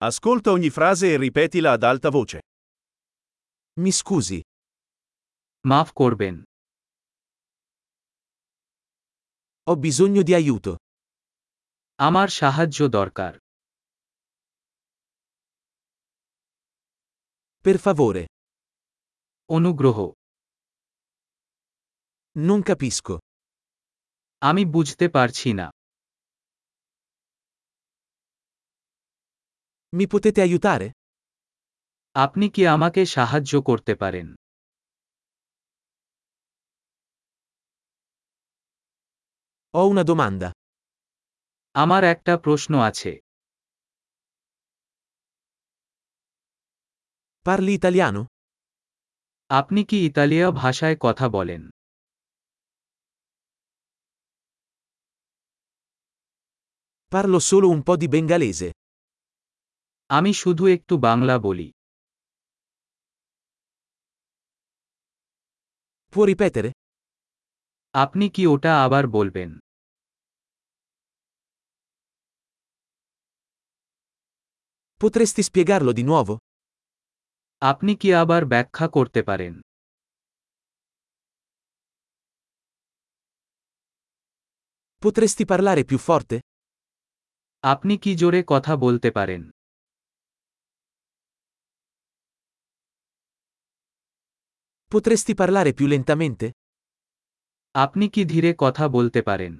Ascolta ogni frase e ripetila ad alta voce. Mi scusi, মাফ করবেন। ho bisogno di aiuto. আমার সাহায্য দরকার। Per favore, অনুগ্রহ। non capisco. আমি বুঝতে পারছি না। Mi potete aiutare? আপনি কি আমাকে সাহায্য করতে পারেন? Ho una domanda. আমার একটা প্রশ্ন আছে। Parli italiano? আপনি কি ইতালীয় ভাষায় কথা বলেন? Parlo solo un po' di bengalese. আমি শুধু একটু বাংলা বলি। Può ripetere? আপনি কি ওটা আবার বলবেন? Potresti spiegarlo di nuovo? আপনি কি আবার ব্যাখ্যা করতে পারেন? Potresti parlare più forte? আপনি কি জোরে কথা বলতে পারেন? Potresti parlare più lentamente? আপনি কি ধীরে কথা বলতে পারেন?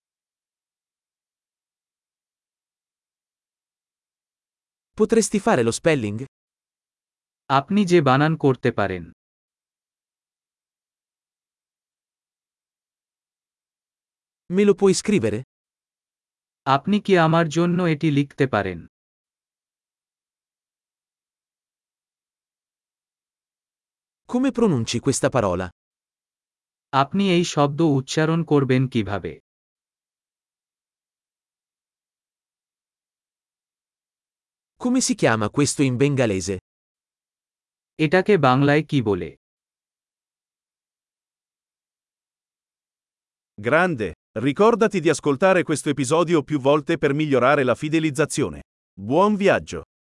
Potresti fare lo spelling? আপনি যে বানান করতে পারেন। Me lo puoi scrivere? আপনি কি আমার জন্য এটি লিখতে পারেন? Come pronunci questa parola? আপনি এই শব্দ উচ্চারণ করবেন কিভাবে? Come si chiama questo in bengalese? এটাকে বাংলায় কি বলে? Grande! Ricordati di ascoltare questo episodio più volte per migliorare la fidelizzazione. Buon viaggio!